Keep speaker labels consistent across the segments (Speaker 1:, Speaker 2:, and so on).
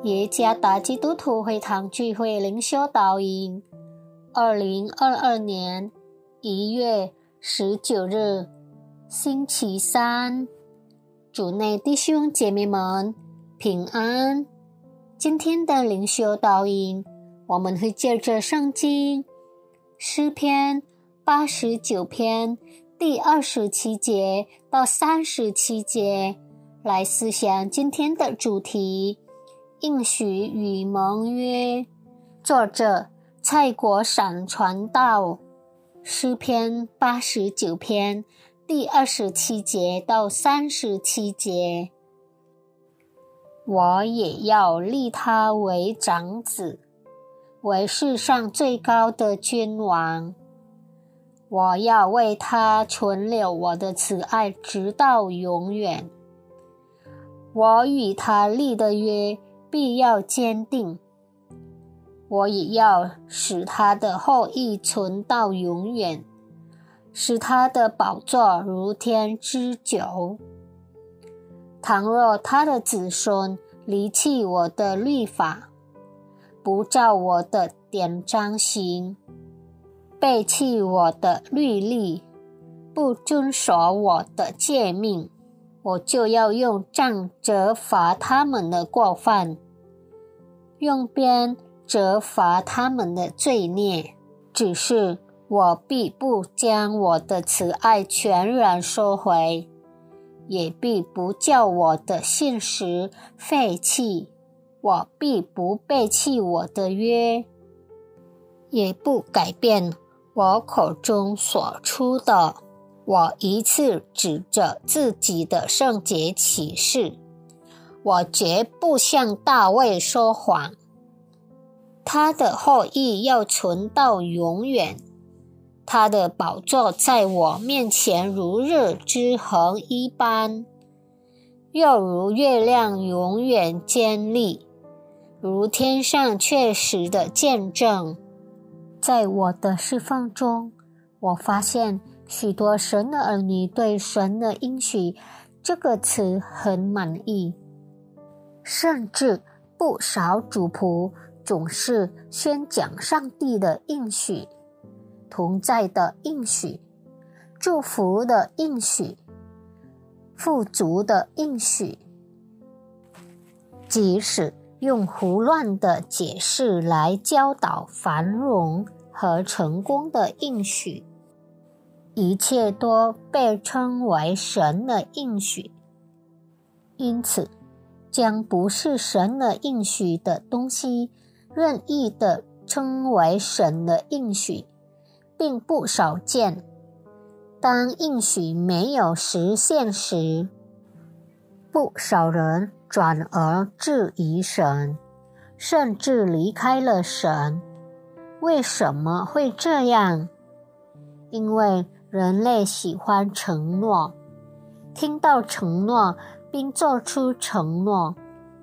Speaker 1: 耶加达基督徒会堂聚会灵修导引2022年1月19日星期三，主内弟兄姐妹们平安。今天的灵修导引，我们会借着圣经诗篇89篇第27节到37节来思想今天的主题，应许与盟约。作者蔡国闪传道。诗篇89篇第27节到37节，我也要立他为长子，为世上最高的君王。我要为他存留我的慈爱直到永远。我与他立的约必要坚定，我也要使他的后裔存到永远，使他的宝座如天之久。倘若他的子孙离弃我的律法，不照我的典章行，背弃我的律例，不遵守我的诫命，我就要用杖责罚他们的过犯，用鞭责罚他们的罪孽。只是我必不将我的慈爱全然收回，也必不叫我的信实废弃。我必不背弃我的约，也不改变我口中所出的。我一次指着自己的圣洁起誓，我绝不向大卫说谎。他的后裔要存到永远，他的宝座在我面前如日之恒一般，又如月亮永远坚立，如天上确实的见证。在我的侍奉中，我发现许多神的儿女对神的应许这个词很满意，甚至不少主仆总是宣讲上帝的应许，同在的应许，祝福的应许，富足的应许。即使用胡乱的解释来教导繁荣和成功的应许，一切都被称为神的应许。因此，将不是神的应许的东西任意的称为神的应许，并不少见。当应许没有实现时，不少人转而质疑神，甚至离开了神。为什么会这样？因为人类喜欢承诺，听到承诺并做出承诺。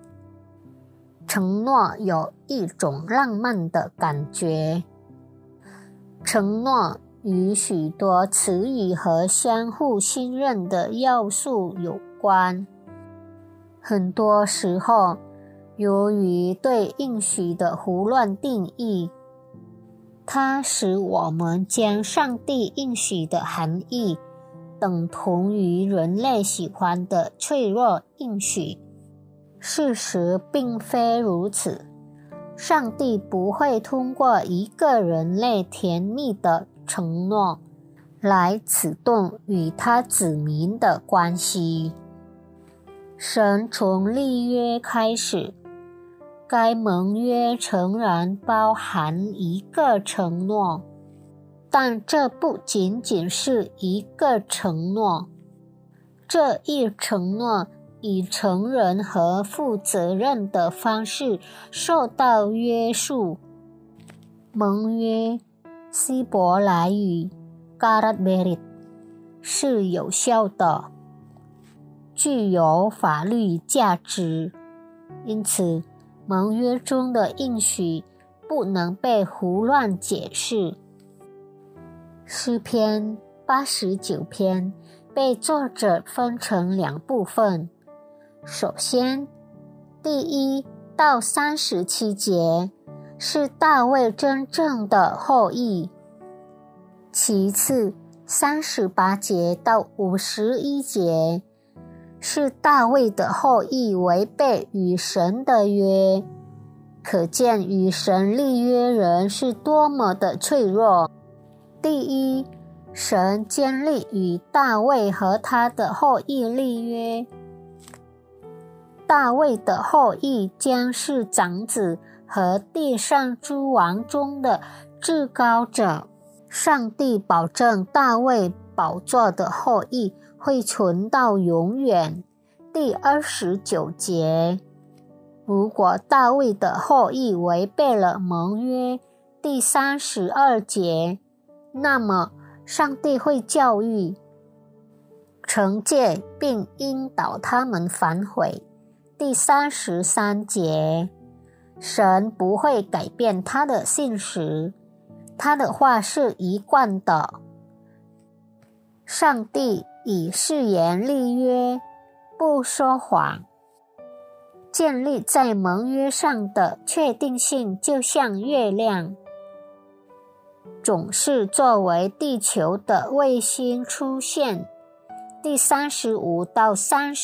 Speaker 1: 承诺有一种浪漫的感觉。承诺与许多词语和相互信任的要素有关。很多时候，由于对应许的胡乱定义，它使我们将上帝应许的含义等同于人类喜欢的脆弱应许。事实并非如此，上帝不会通过一个人类甜蜜的承诺来启动与他子民的关系。神从立约开始，该盟约诚然包含一个承诺，但这不仅仅是一个承诺，这一承诺以成人和负责任的方式受到约束。盟约希伯来语 Garat Berit 是有效的，具有法律价值，因此盟约中的应许不能被胡乱解释。诗篇89篇被作者分成两部分。首先，第一到37节是大卫真正的后裔，其次38节到51节是大卫的后裔违背与神的约，可见与神立约人是多么的脆弱。第一，神坚立与大卫和他的后裔立约，大卫的后裔将是长子和地上诸王中的至高者。上帝保证大卫宝座的后裔会存到永远。第29节，如果大卫的后裔违背了盟约，第32节，那么上帝会教育、惩戒并引导他们反悔。第33节，神不会改变他的信实，他的话是一贯的。上帝以誓言立约，不说谎。建立在盟约上的确定性就像月亮，总是作为地球的卫星出现。第35到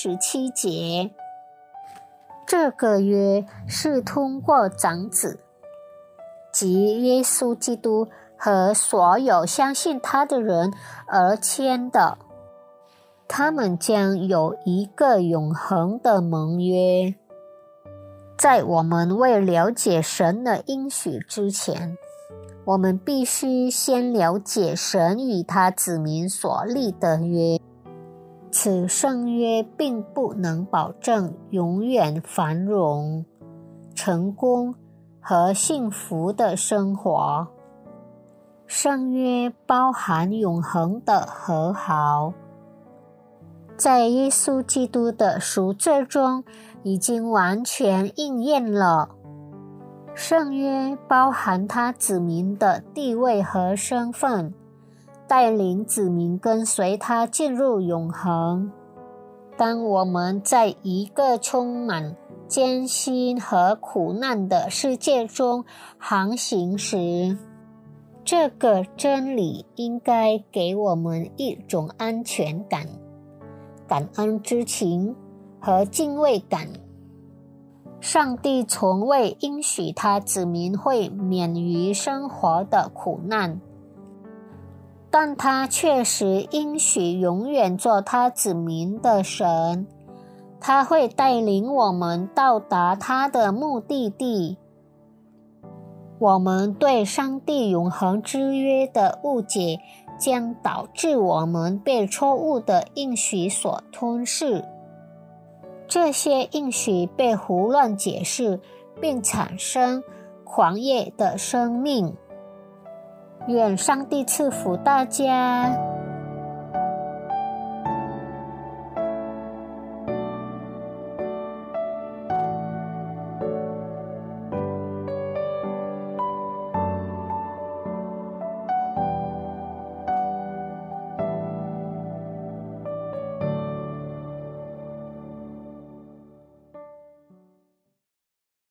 Speaker 1: 37节，这个约是通过长子，即耶稣基督和所有相信他的人而签的，他们将有一个永恒的盟约。在我们未了解神的应许之前，我们必须先了解神与他子民所立的约。此圣约并不能保证永远繁荣、成功和幸福的生活。圣约包含永恒的和好，在耶稣基督的赎罪中已经完全应验了。圣约包含他子民的地位和身份，带领子民跟随他进入永恒。当我们在一个充满艰辛和苦难的世界中航行时，这个真理应该给我们一种安全感、感恩之情和敬畏感。上帝从未应许他子民会免于生活的苦难，但他确实应许永远做他子民的神，他会带领我们到达他的目的地。我们对上帝永恒之约的误解将导致我们被错误的应许所吞噬，这些应许被胡乱解释，并产生狂野的生命。愿上帝赐福大家。